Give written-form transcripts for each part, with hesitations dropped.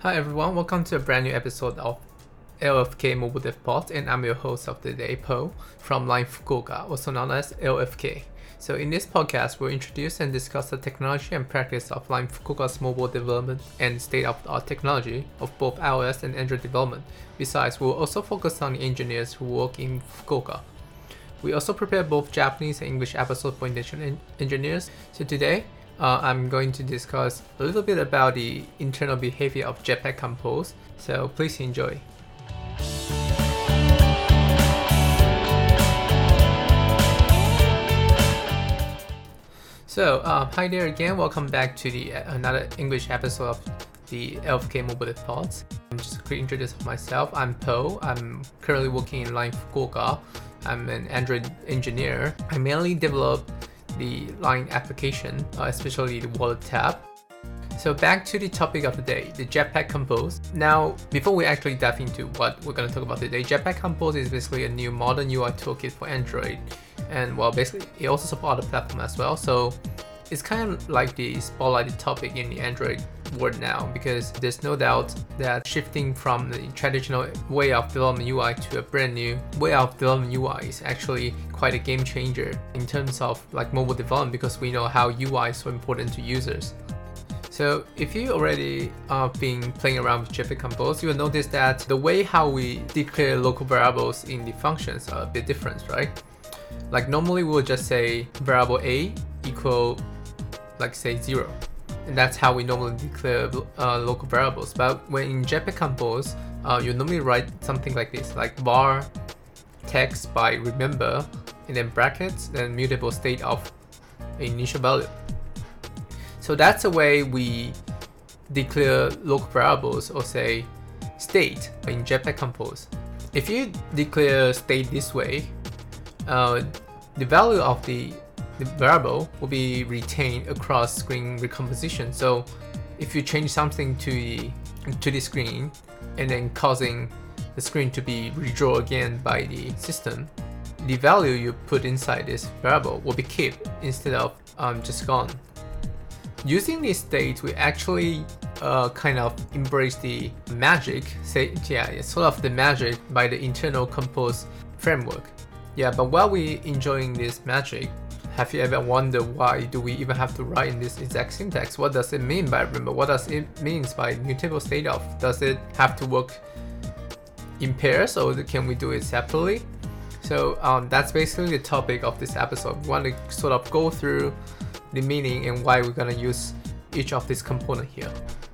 Hi everyone, welcome to a brand new episode of LFK Mobile Dev Pod, and I'm your host of the day, Po, from Line Fukuoka, also known as LFK. So in this podcast, we'll introduce and discuss the technology and practice of Line Fukuoka's mobile development and state-of-the-art technology of both iOS and Android development. Besides, we'll also focus on the engineers who work in Fukuoka. We also prepare both Japanese and English episodes for international engineers. So today, I'm going to discuss a little bit about the internal behavior of Jetpack Compose, so please enjoy. So, hi there again, welcome back to the another English episode of the LFK Mobile Dev Pods. Just a quick introduction of myself. I'm Po. I'm currently working in Line Fukuoka. I'm an Android engineer. I mainly develop the Line application, especially the wallet tab. So back to the topic of the day, the Jetpack Compose. Now, before we actually dive into what we're going to talk about today, Jetpack Compose is basically a new modern UI toolkit for Android. And well, basically, it also supports other platforms as well. So it's kind of like the spotlighted topic in the Android world now, because there's no doubt that shifting from the traditional way of developing UI to a brand new way of developing UI is actually quite a game changer in terms of like mobile development, because we know how UI is so important to users. So if you already been playing around with Jetpack Compose, you will notice that the way how we declare local variables in the functions are a bit different, right? Like normally we'll just say variable a equal, like say 0. And that's how we normally declare local variables. But when in Jetpack Compose, you normally write something like this, like var text by remember, and then brackets, then mutable state of initial value. So that's the way we declare local variables, or say state, in Jetpack Compose. If you declare state this way, the value of the variable will be retained across screen recomposition. So if you change something to the screen and then causing the screen to be redrawn again by the system, the value you put inside this variable will be kept instead of just gone. Using this state, we actually kind of embrace the magic, it's sort of the magic by the internal Compose framework. Yeah, but while we're enjoying this magic, have you ever wondered why do we even have to write in this exact syntax? What does it mean by remember? What does it mean by mutable state of? Does it have to work in pairs, or can we do it separately? So that's basically the topic of this episode. We want to sort of go through the meaning and why we're going to use each of these components here.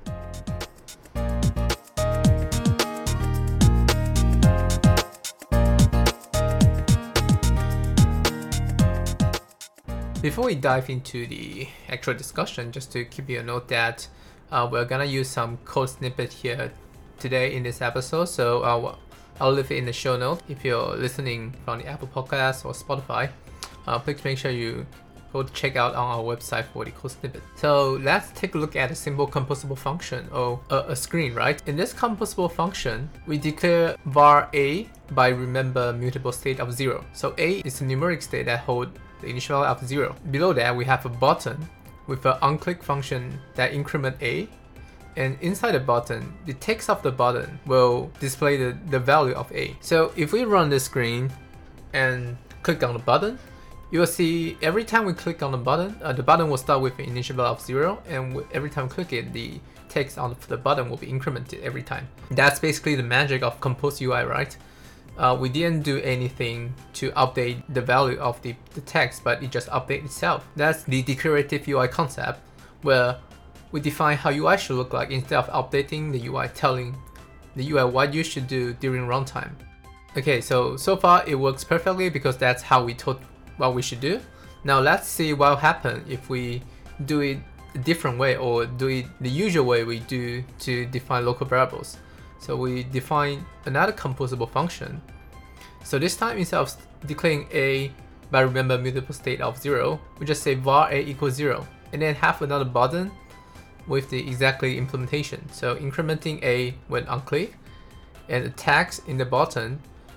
Before we dive into the actual discussion, just to keep you a note that we're gonna use some code snippet here today in this episode. So I'll leave it in the show notes. If you're listening from the Apple Podcast or Spotify, please make sure you go check out on our website for the code snippet. So let's take a look at a simple composable function, or a screen, right? In this composable function, we declare var a by remember mutable state of 0. So a is a numeric state that holds the initial value of 0. Below that, we have a button with an onClick function that increment a, and inside the button, the text of the button will display the value of a. So if we run the screen and click on the button, you will see every time we click on the button will start with an initial value of 0, and every time we click it, the text on the button will be incremented every time. That's basically the magic of Compose UI, right? We didn't do anything to update the value of the text, but it just updates itself. That's the declarative UI concept, where we define how UI should look like instead of updating the UI, telling the UI what you should do during runtime. Okay, so far it works perfectly because that's how we told what we should do. Now let's see what will happen if we do it a different way, or do it the usual way we do to define local variables. So we define another composable function. So this time, instead of declaring a by remember mutable state of 0, we just say var a equals 0, and then have another button with the exactly implementation. So incrementing a when on click, and a text in the button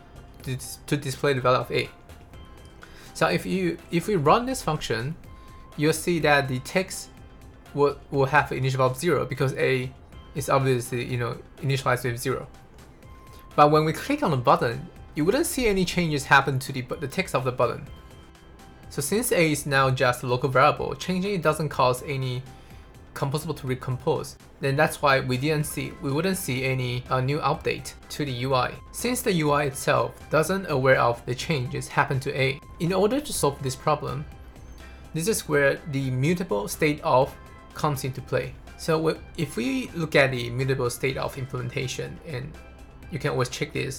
to display the value of a. So if we run this function, you'll see that the text will have an initial value of 0 because a is obviously, initialized with 0. But when we click on the button, you wouldn't see any changes happen to the text of the button. So since A is now just a local variable, changing it doesn't cause any composable to recompose. Then that's why we wouldn't see any new update to the UI. Since the UI itself doesn't aware of the changes happen to A. In order to solve this problem, this is where the mutable state of comes into play. So if we look at the mutable state of implementation, and you can always check this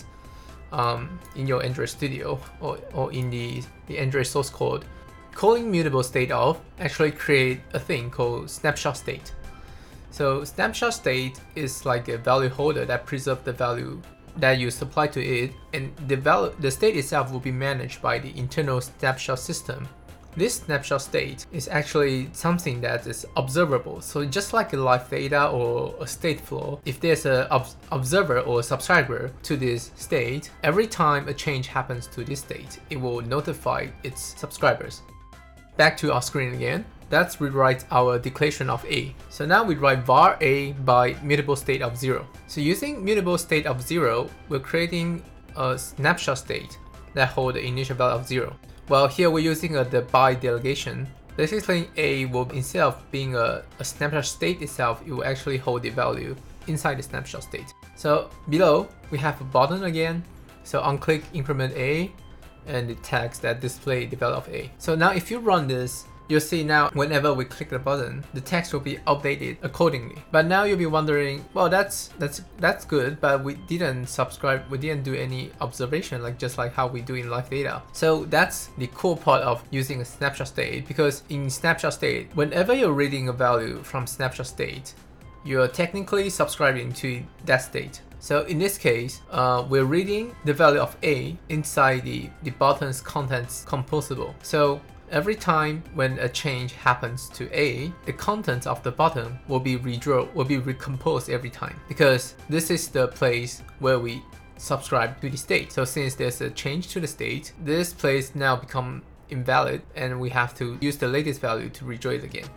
in your Android Studio or in the Android source code, calling mutable state of actually create a thing called snapshot state. So snapshot state is like a value holder that preserves the value that you supply to it, and the state itself will be managed by the internal snapshot system. This snapshot state is actually something that is observable. So just like a live data or a state flow, if there's an observer or a subscriber to this state, every time a change happens to this state, it will notify its subscribers. Back to our screen again. Let's rewrite our declaration of A. So now we write var A by mutable state of 0. So using mutable state of 0, we're creating a snapshot state that holds the initial value of 0. Well, here we're using the by delegation. Basically, A will, instead of being a snapshot state itself, it will actually hold the value inside the snapshot state. So below, we have a button again. So on-click increment A and the text that display the value of A. So now if you run this, you'll see now whenever we click the button, the text will be updated accordingly. But now you'll be wondering, well, that's good, but we didn't subscribe, we didn't do any observation, just like how we do in live data. So that's the cool part of using a snapshot state, because in snapshot state, whenever you're reading a value from snapshot state, you're technically subscribing to that state. So in this case, we're reading the value of A inside the button's contents composable. So every time when a change happens to A, the contents of the button will be recomposed every time, because this is the place where we subscribe to the state. So since there's a change to the state, this place now become invalid, and we have to use the latest value to redraw it again.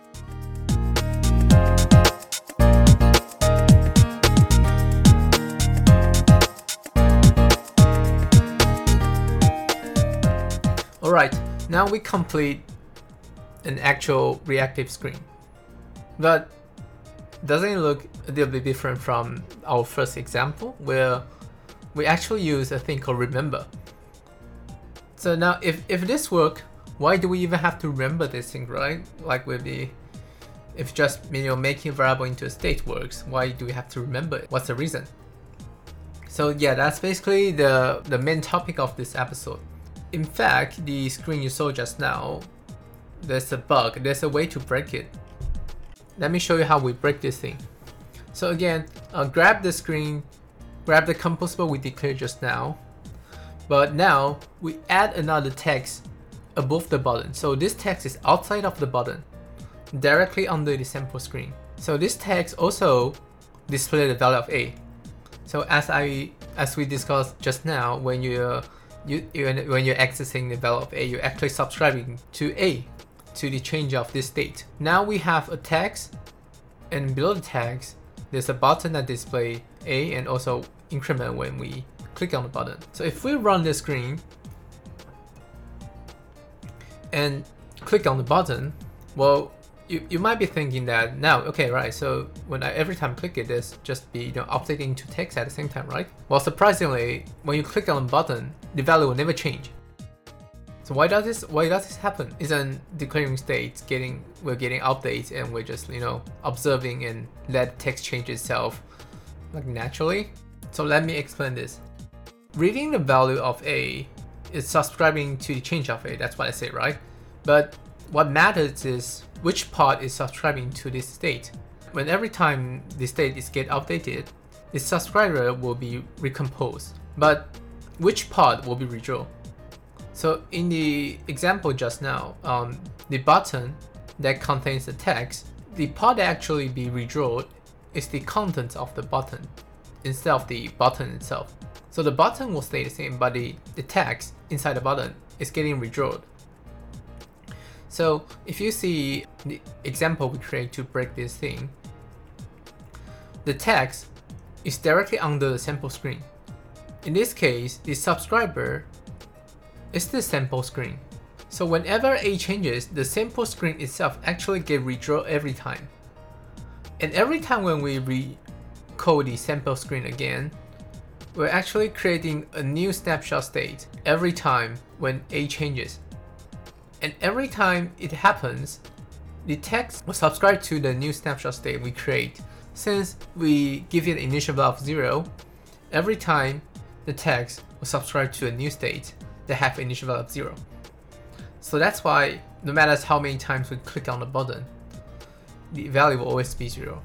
Alright, now we complete an actual reactive screen. But doesn't it look a little bit different from our first example, where we actually use a thing called remember? So now if this works, why do we even have to remember this thing, right? Like if just making a variable into a state works, why do we have to remember it? What's the reason? So yeah, that's basically the main topic of this episode. In fact, the screen you saw just now, there's a bug, there's a way to break it. Let me show you how we break this thing. So again, grab the screen, grab the composable we declared just now, but now we add another text above the button. So this text is outside of the button, directly under the sample screen. So this text also displays the value of A. So as we discussed just now, when you're accessing the value of A, you're actually subscribing to A, to the change of this state. Now we have a text, and below the text, there's a button that displays A and also increment when we click on the button. So if we run the screen and click on the button, well, you might be thinking that now, okay, right, so when every time I click it, there's just be updating to text at the same time, right? Well, surprisingly, when you click on the button, the value will never change. So why does this happen? Isn't declaring state we're getting updates and we're just observing and let text change itself naturally? So let me explain this. Reading the value of A is subscribing to the change of A. That's what I say, right? But what matters is which part is subscribing to this state. When every time the state is get updated, the subscriber will be recomposed, but which part will be redrawn? So in the example just now, the button that contains the text, the part that actually be redrawn is the contents of the button instead of the button itself. So the button will stay the same, but the text inside the button is getting redrawn. So if you see the example we create to break this thing, the text is directly under the sample screen. In this case, the subscriber is the sample screen. So whenever A changes, the sample screen itself actually gets redrawn every time. And every time when we recode the sample screen again, we're actually creating a new snapshot state every time when A changes. And every time it happens, the text will subscribe to the new snapshot state we create. Since we give it an initial value of 0, every time the text will subscribe to a new state that have initial value of 0. So that's why no matter how many times we click on the button, the value will always be 0.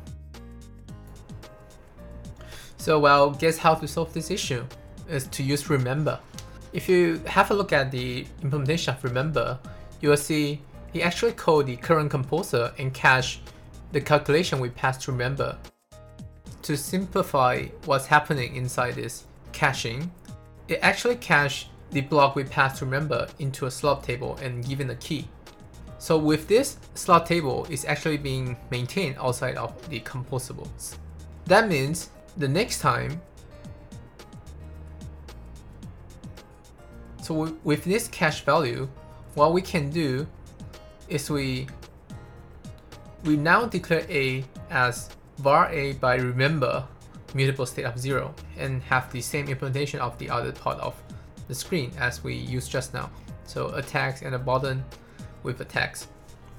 So well, guess how to solve this issue is to use remember. If you have a look at the implementation of remember, you will see he actually called the current composer and cache the calculation we passed to remember. To simplify what's happening inside this caching, it actually cached the block we passed to remember into a slot table and given a key. So with this, slot table is actually being maintained outside of the composables. That means the next time, so with this cache value, what we can do is we now declare A as var A by remember mutable state of 0 and have the same implementation of the other part of the screen as we used just now. So a text and a button with a text.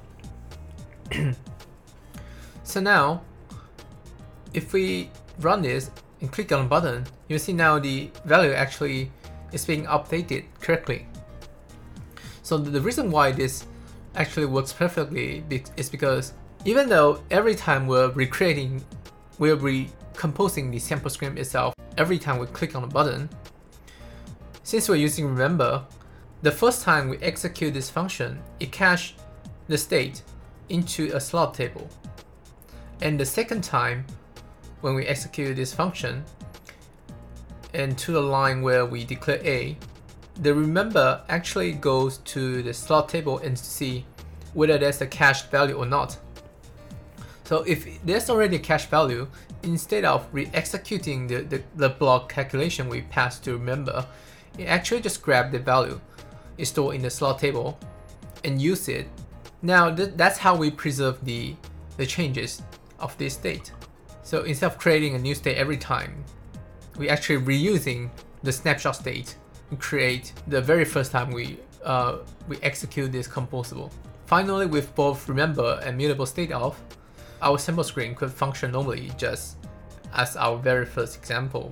So now, if we run this and click on the button, you'll see now the value actually is being updated correctly. So the reason why this actually works perfectly is because even though every time we're recomposing the sample screen itself every time we click on the button, since we're using remember, the first time we execute this function, it caches the state into a slot table. And the second time when we execute this function and to the line where we declare A, the remember actually goes to the slot table and see whether there's a cached value or not. So if there's already a cached value, instead of re-executing the block calculation we passed to remember, it actually just grabs the value is stored in the slot table and use it. Now that's how we preserve the changes of this state. So instead of creating a new state every time, we actually reusing the snapshot state to create the very first time we execute this composable. Finally, with both remember and mutable state of, our sample screen could function normally, just as our very first example.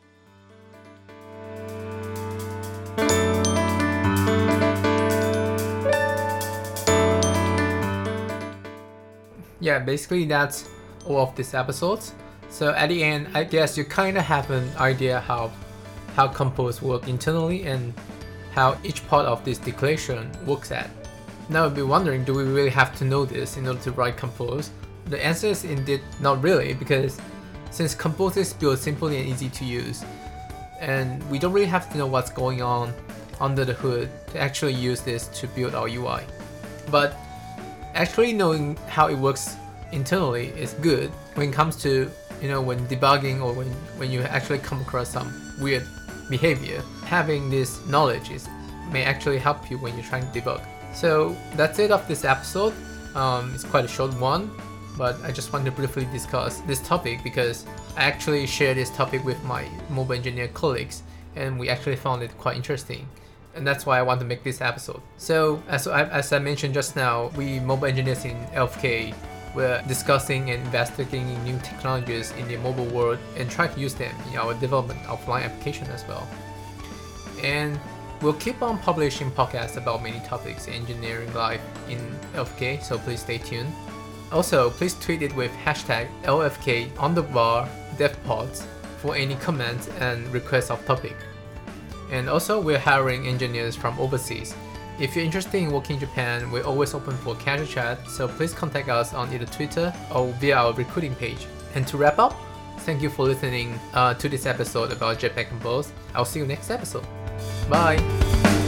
Yeah, basically that's all of this episode. So at the end, I guess you kind of have an idea how compose work internally and how each part of this declaration works at. Now you'll be wondering, do we really have to know this in order to write compose? The answer is indeed not really, because since compose is built simply and easy to use, and we don't really have to know what's going on under the hood to actually use this to build our UI. But actually knowing how it works internally is good when it comes to, when debugging or when you actually come across some weird behavior. Having this knowledge may actually help you when you're trying to debug. So that's it of this episode. It's quite a short one, but I just want to briefly discuss this topic because I actually share this topic with my mobile engineer colleagues and we actually found it quite interesting. And that's why I want to make this episode. So as I mentioned just now, we mobile engineers in LFK were discussing and investigating new technologies in the mobile world and try to use them in our development of Line application as well. And we'll keep on publishing podcasts about many topics in engineering life in LFK, so please stay tuned. Also, please tweet it with hashtag LFK_devpods for any comments and requests of topic. And also, we're hiring engineers from overseas. If you're interested in working in Japan, we're always open for casual chat, so please contact us on either Twitter or via our recruiting page. And to wrap up, thank you for listening to this episode about Jetpack Compose. I'll see you next episode. Bye!